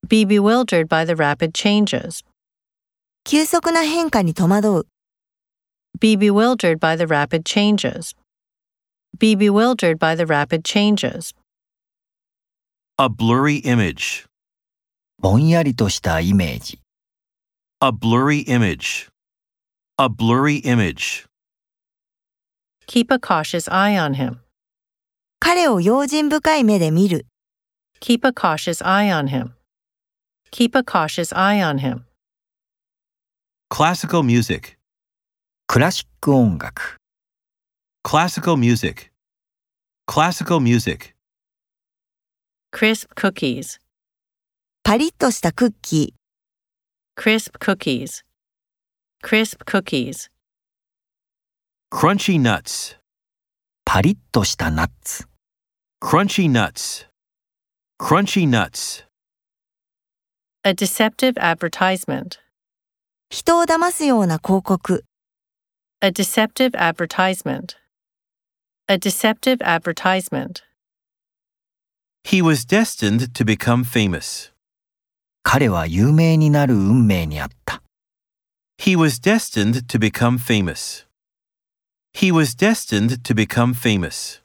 Be bewildered by the rapid changes. 急速な変化に戸惑う。 Be bewildered by the rapid changes. Be bewildered by the rapid changes. A blurry image. ぼんやりとしたイメージ。 A blurry image. A blurry image. Keep a cautious eye on him. 彼を用心深い目で見る。 Keep a cautious eye on him. Keep a cautious eye on him. Classical music. クラシック音楽。 Classical music. Classical music. Crisp cookies. パリッとしたクッキー。 Crisp cookies. Crisp cookies. Crunchy nuts. パリッとしたナッツ。 Crunchy nuts. Crunchy nuts. A deceptive advertisement. 人を騙すような広告。 A deceptive advertisement. A deceptive advertisement. He was destined to become famous. 彼は有名になる運命にあった。 He was destined to become famous. He was destined to become famous.